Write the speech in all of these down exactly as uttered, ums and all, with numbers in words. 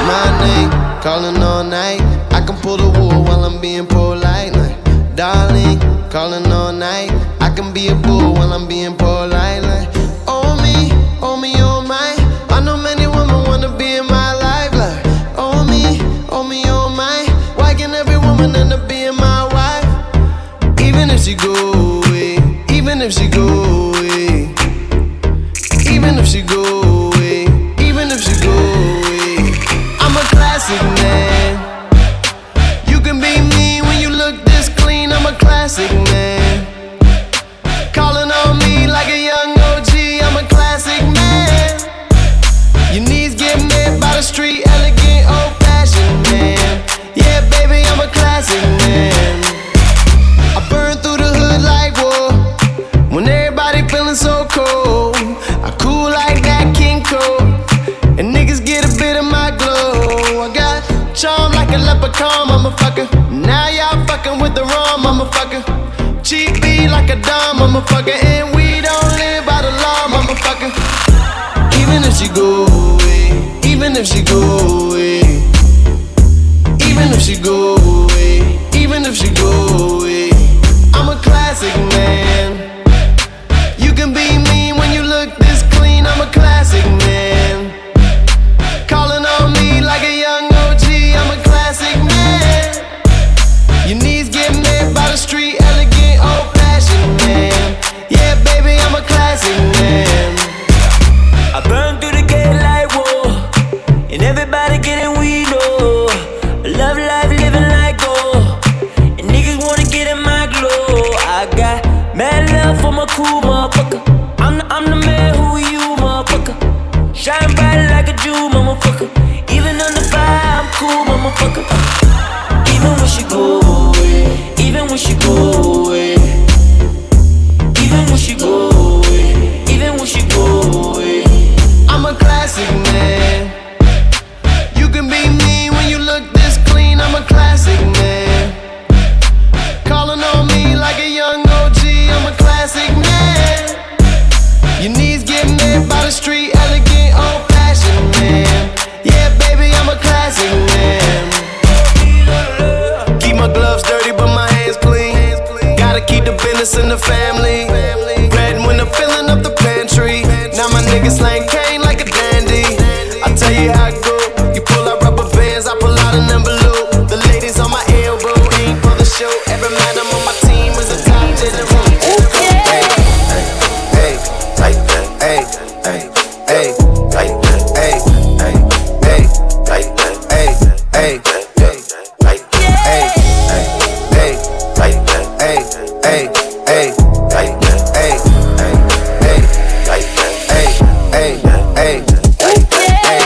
my name, calling all night. I can pull the wool while I'm being polite. Like, darling, calling all night. I can be a bull while I'm being polite. Like, oh me, oh me, oh my. I know many women wanna be in my life. Like, oh me, oh me, oh my. Why can't every woman end up being my wife? Even if she go away, even if she go away, even if she go away, even if she go away, I'm a classic man. You can be mean when you look this clean. I'm a classic man. Calling on me like a young O G. I'm a classic man. Your knees get made by the street, elegant, old-fashioned man. Yeah, baby, I'm a classic man. I burn through the hood like war. When everybody feeling so cold, I cool like that King Cole. And niggas get a bit of my glow. I got charm like a leprechaun, motherfucker. Now y'all fucking with the wrong motherfucker. Cheap beat like a dumb motherfucker. And we don't live by the law, motherfucker. Even if she go away, even if she go away, even if she go away, even if she go away, I'm a classic man. You can be mean when you look this clean. I'm a classic man. Calling on me like a young O G. I'm a classic man. Your knees get made by the street, elegant, old-fashioned man. Yeah, baby, I'm a classic man. I burn through the gate like whoa, and everybody getting weed, oh. I love life, living like gold, and niggas wanna get in my glow. I got mad love for my cool motherfucker. I'm the, I'm the man who you, motherfucker. Shine bright like a Jew, motherfucker. Even under fire, I'm cool, motherfucker. Even when she go away, even when she go away, even when she go away, even when she go away, I'm a classic man. You can be mean when you look this clean. I'm a classic man. Calling on me like a young O G. I'm a classic man. Your knees get made by the street, elegant, old-fashioned man. Yeah, baby, I'm a classic man. Keep my gloves dirty, but my hands clean. Gotta keep the business in the family. Bread when I'm filling up the pantry. Now my niggas slang cane like a dandy. I tell you how it go. You pull out rubber bands, I pull out an envelope. The ladies on my elbow ain't for the show. Every man I'm on my team is a top general. Hey, hey, hey, like that. Hey, hey, hey, like that. Hey, hey, hey, like that. Hey, hey, hey, like that. Hey, hey, hey, like that. Hey, hey, hey, like that. Hey, hey, hey, like that. Hey, hey, hey, like that. Hey.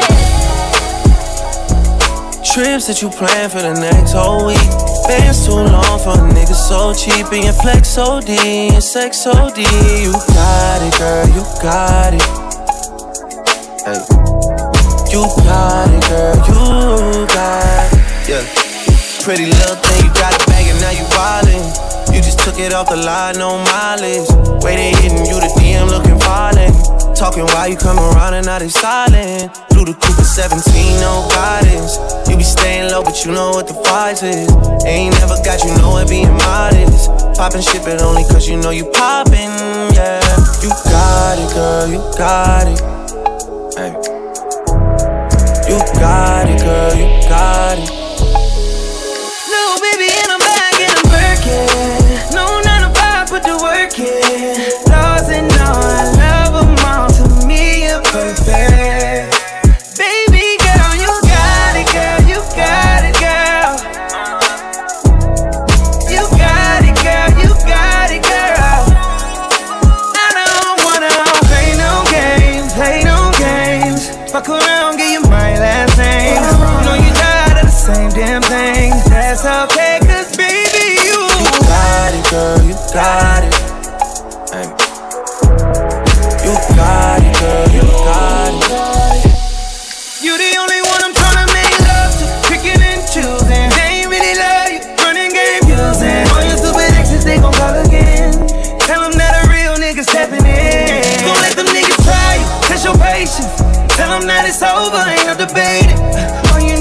Trips that you plan for the next whole week. Bands too long for a nigga so cheap. And your flex O D, and sex O D. You got it, girl, you got it. Hey. You got it, girl, you got it. Yeah. Pretty little thing, you got it bag and now you wildin'. You just took it off the line, no mileage. Waiting, hitting you, the D M looking violent. Talking while you come around and now they silent. Through the Cooper seventeen, no guidance. You be staying low, but you know what the price is. Ain't never got you know it being modest. Poppin' shit, but only cause you know you poppin', yeah. You got it, girl, you got it. Hey. You got it, girl, you got it. no baby, and I'm back and I'm working. No nine to five, put the work in. Laws and all, I love them all. To me, you're perfect. Baby girl, you got it, girl, you got it, girl. You got it, girl, you got it, girl. I don't wanna play no games, play no games. Fuck around, give you my last name. You know you tired of the same damn thing. That's okay, cause baby, you You got it, girl, you got it. Hey. You got it, girl, you got it. You the only one I'm tryna make love to. Picking and choosing. They ain't really love you. Running game using. All your stupid exes, they gon' call again. Tell them that a real nigga stepping in. Don't let them niggas try you. Test your patience. Tell them that it's over, ain't no debating. All you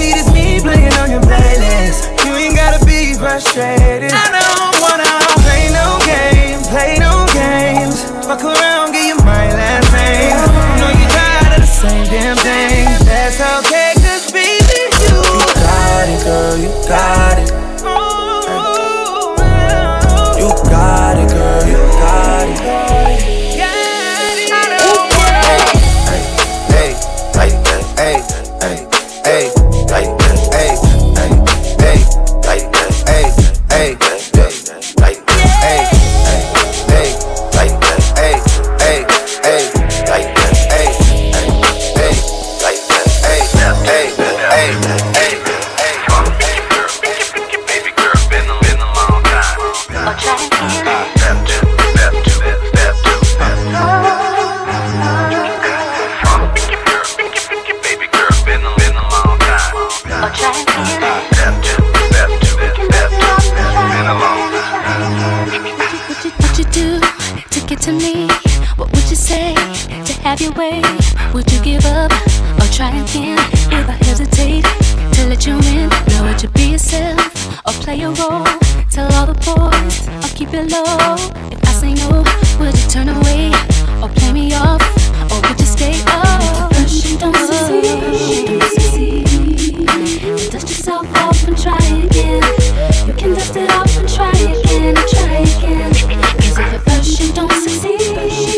it below? If I say no, would you turn away or play me off, or would you stay up? First you don't succeed, dust yourself off and try again. You can dust it off and try again, and try again. Cause if at first you don't succeed,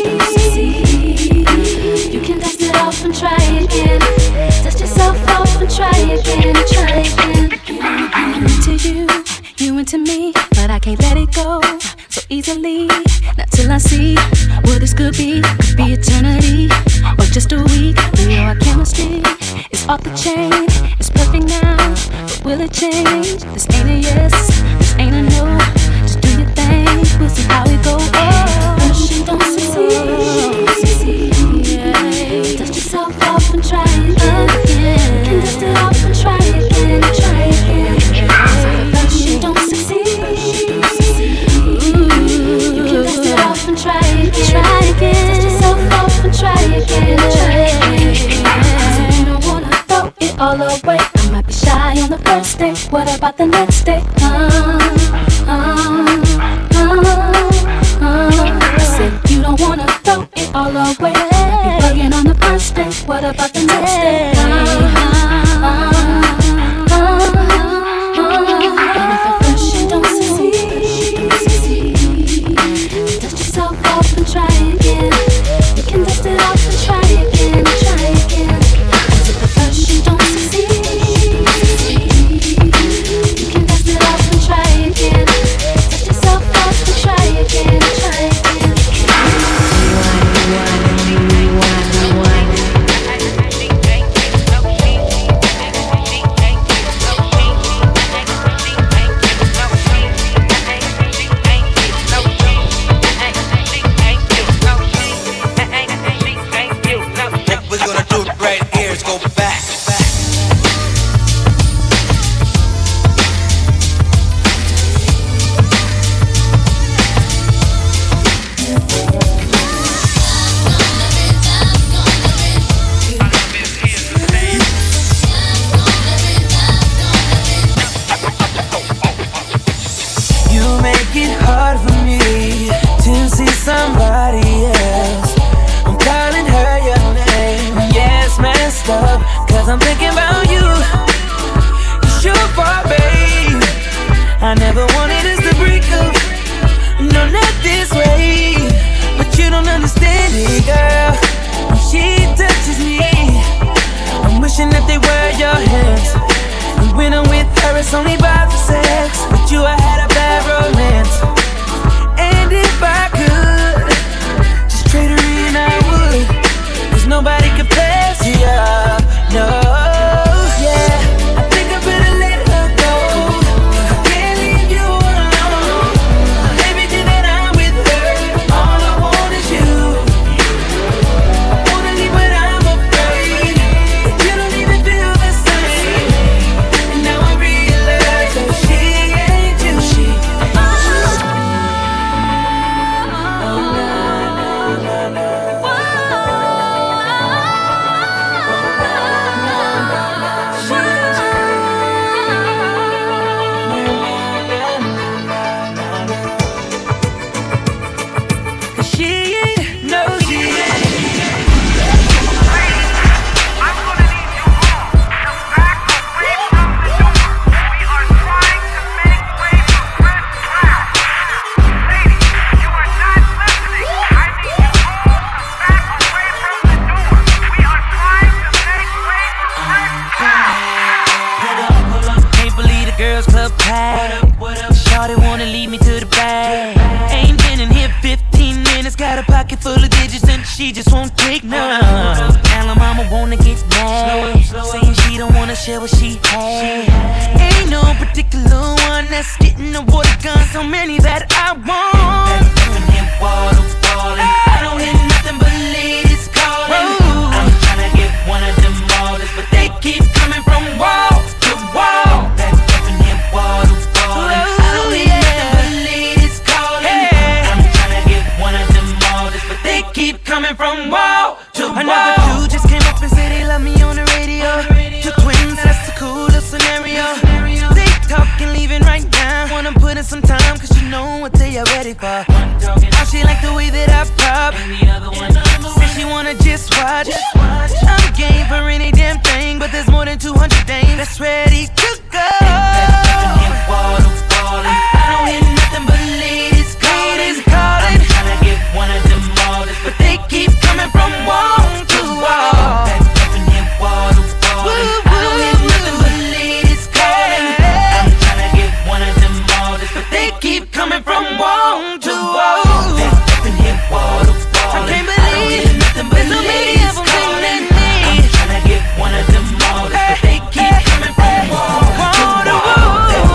you can dust it off and try again. Dust yourself off and try again, and try again. I'm into you, you into me, but I can't let it go so easily. Not till I see what this could be. Could be eternity or just a week. We know our chemistry is off the chain. It's perfect now, but will it change? This ain't a yes, this ain't a no. Just do your thing, we'll see how it goes. Oh, first you don't succeed, yeah. Dust yourself off and try again. You can dust it off and try again, try again. So first you don't succeed, you can dust it off and try again, try again. Dust yourself off and try again, try again. So you don't wanna throw it all away. I might be shy on the first day. What about the next day? Uh, uh, uh, uh. I said you don't wanna throw it all away. You're bugging on the first day. What about the next day? Uh, uh, uh, uh. And if at first you don't succeed, dust yourself off and try again. You can dust it off and try again, try again. Cause if at first you don't succeed, you can dust it off and try again. Dust yourself off and try again, try again. get ready for. How she like the way that I pop, and the other one says she wanna just watch. I'm game for any damn thing, but there's more than two hundred dames that's ready to go. I don't hear nothing but ladies calling, calling. I'm tryna get one of them all, but they keep coming from wall to wall. I don't hear nothing but ladies calling. I'm tryna get one of them all, but they keep coming from wall to wall. I can't believe there's so many of them in me. I'm tryna get one of them all, but they keep coming from wall to wall.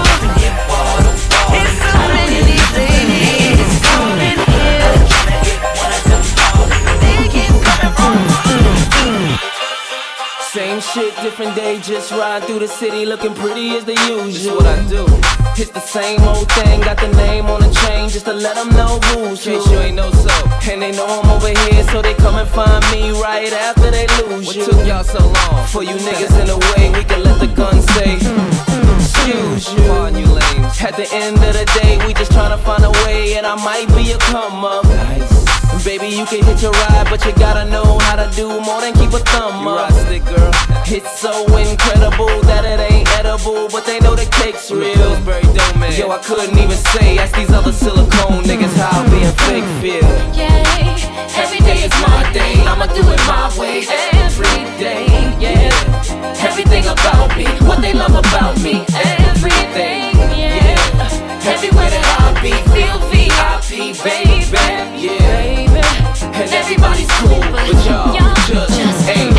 There's so many ladies in here. I'm tryna get one of them all, but they keep coming from wall. Same shit, different day, just ride through the city looking pretty as the usual. This is what I do. It's the same old thing, got the name on the chain just to let them know who's who. In case you ain't know so. And they know I'm over here, so they come and find me right after they lose what you. What took y'all so long? For you niggas in the way, we can let the gun say, excuse you. Pardon you lames. At the end of the day, we just tryna find a way, and I might be a come up. Nice. Baby, you can hit your ride, but you gotta know how to do more than keep a thumb you up. Stick, girl. It's so incredible that it ain't edible, but they know the cake's real. Yo, I couldn't even say, ask these other silicone niggas how being fake feel. Yeah, every day is my day, I'ma do it my way. Every day, yeah. Everything about me, what they love about me. Everything, yeah. Everywhere that I be, feel V I P, baby. Yeah. And everybody's cool, but y'all just ain't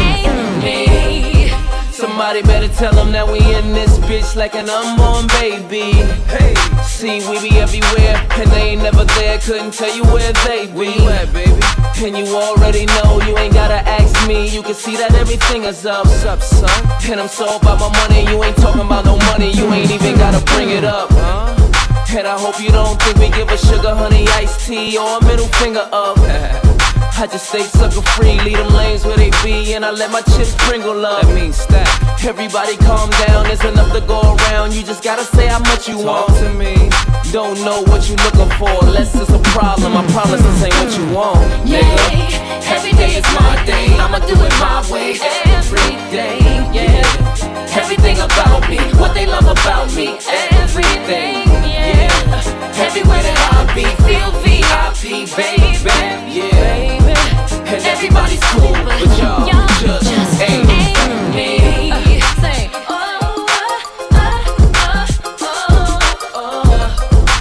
me. Somebody better tell them that we in this bitch like an unborn baby. Hey, see, we be everywhere, and they ain't never there. Couldn't tell you where they be. Where you at, baby? And you already know, you ain't gotta ask me. You can see that everything is up. What's up, son? And I'm so about my money, you ain't talking about no money. You ain't even gotta bring it up, huh? And I hope you don't think we give a sugar, honey, iced tea, or a middle finger up. I just stay sucker free, leave them lanes where they be, and I let my chips sprinkle up. That means stack. Everybody calm down, there's enough to go around. You just gotta say how much you Talk want to me. Don't know what you looking for, unless it's a problem. I promise this ain't what you want, nigga. Yeah, every day is my day, I'ma do it my way. Every day, yeah. Everything about me, what they love about me. Everything, yeah. Everywhere that I be, feel V I P, baby. Yeah. And everybody's cool, but y'all just, just ain't me. Say, oh, oh, oh, oh, oh, oh,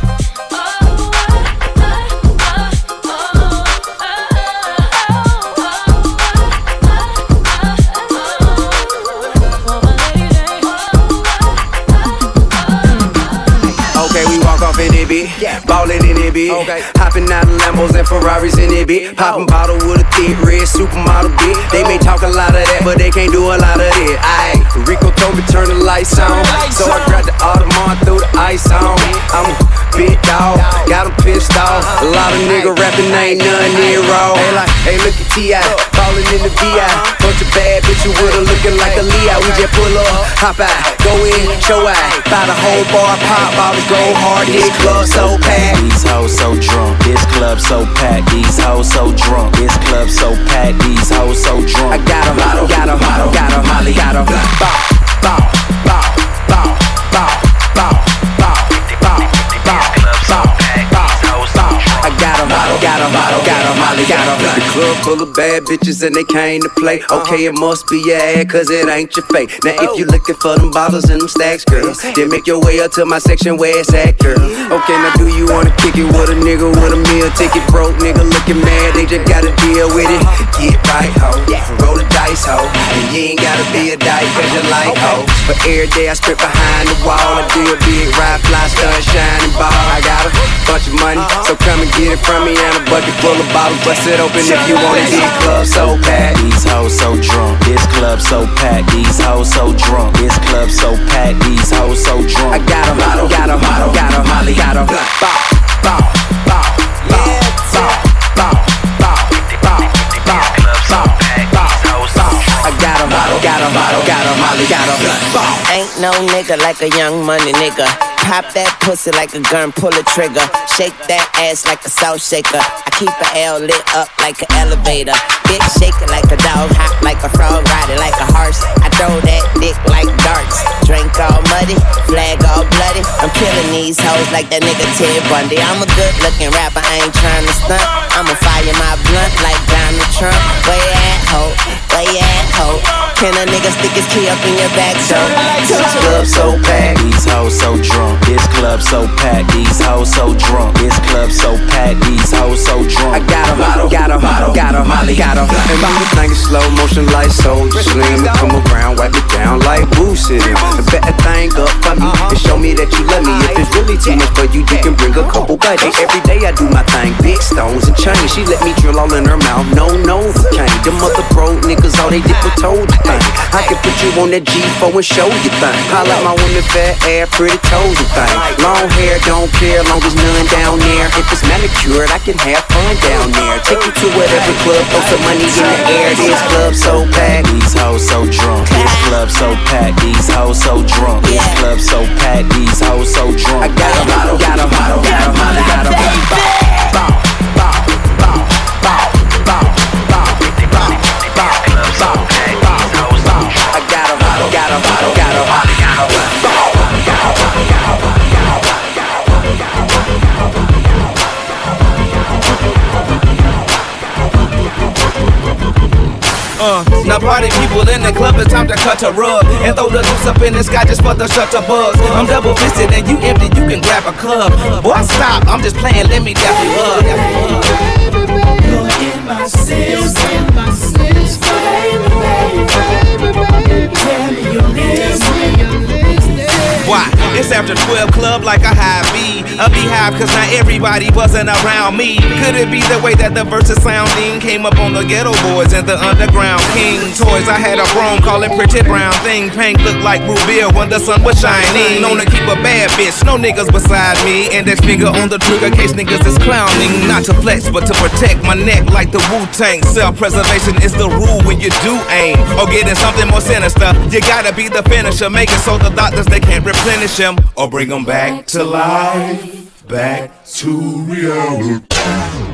Okay, we walk off in it, bitch. Yeah. Ballin' in it, bitch. Okay. Hopping out of Lambos and Ferraris in it, bitch. Poppin' bottle with a thick red supermodel, bitch. They may talk a lot of that, but they can't do a lot of it. Aight, Rico told me turn the lights on, so I grabbed the Audemars, threw the ice on. I'm a big dog, got him pissed off. A lot of nigga rapping, ain't none near raw. Hey, like, hey, look at T I, ballin' in the V I. Bunch of bad bitches with her looking like a Leo. We just pull up, hop out, go in, show out. Buy the whole bar, pop bottles, go hard. This club so packed. These hoes so drunk. This club so packed. These hoes so drunk. This club so packed. These hoes so drunk. I got 'em, got 'em, got 'em, Molly, got 'em. Bow, bow, bow, bow, bow, bow, bow, bow, bow, bow, bow. I got 'em, got 'em, got 'em, Molly, got 'em. The club full of bad bitches and they came to play. Okay, it must be your ass, cause it ain't your fate. Now if you looking for them bottles and them stacks, girl, then make your way up to my section where it's at, girl. Okay, now do you wanna kick it with a nigga with a meal ticket? Broke nigga looking mad, they just gotta deal with it. Get right, ho, roll the dice, ho. And you ain't gotta be a dyke cause you like, ho. But every day I strip behind the wall. I do a big ride, fly, stun, shining ball. I got a bunch of money, so come and get it from me. And a bucket full of bottles, bust it open if you wanna get it. Club so packed. These hoes so drunk. This club so packed. These hoes so drunk. This club so packed. These hoes so drunk. I got 'em, got 'em, got 'em, got 'em, Molly, got 'em. Bow, bow, bow, bow, bow, bow, bow, bow, bow, bow, bow. I got 'em, got 'em, got 'em, got 'em, Molly, got 'em. got a ball. Ain't no nigga like a young money nigga. Pop that pussy like a gun, pull a trigger. Shake that ass like a salt shaker. I keep an L lit up like an elevator. Bitch shaking like a dog, hot like a frog, riding like a horse. I throw that dick like darts. Drink all muddy, flag all bloody. I'm killing these hoes like that nigga Ted Bundy. I'm a good looking rapper, I ain't trying to stunt. I'ma fire my blunt like Donald Trump. Where you at, ho? Where you at, ho? Can a nigga stick his key up in your back, so? This club so packed, these hoes so drunk. This club so packed, these hoes so drunk. This club so packed, these hoes so drunk. I got 'em, got 'em, got 'em, got 'em. And move the thing in slow motion like Soulja Slim. And come around, wipe it down like Boo sitting. And bet that thing up for me and show me that you love me. If it's really too much for you, you can bring a couple buddies. Every day I do my thing, big stones and chains. She let me drill all in her mouth, no novocaine. Them other broke niggas, all they did was told you thing. I can put you on that G four and show you thing. I like my women fat ass, pretty toes and thing. Long hair, don't care, long as none down there. If it's manicured, I can have fun down there. Take you to whatever club, throw some money in the air. This club so packed, these hoes so drunk. This club so packed, these hoes so drunk. This club so packed, these hoes so drunk. I got 'em, got 'em, got 'em, got 'em, got 'em. Bow, bow, bow, bow, bow, bow, bow, bow, bow, bow. I got 'em, got 'em, got 'em, got 'em, got 'em. Uh, now party people in the club, it's time to cut a rug and throw the loose up in the sky just for the shutter buzz. I'm double fisted and you empty, you can grab a club. Boy, stop, I'm just playing, let me dap you up. You're in my sins, in my sins, baby, baby, baby. Tell me your lips, Why? It's after twelve club like a high B. A beehive cause not everybody wasn't around me. Could it be the way that the verses sounding came up on the ghetto boys and the underground king toys? I had a chrome call it pretty brown thing. Pink looked like root beer when the sun was shining. Known to keep a bad bitch, no niggas beside me. Index finger on the trigger case niggas is clowning. Not to flex but to protect my neck like the Wu-Tang. Self-preservation is the rule when you do aim. Or getting something more sinister, you gotta be the finisher. Make it so the doctors they can't replenish him or bring them back to life, back to reality.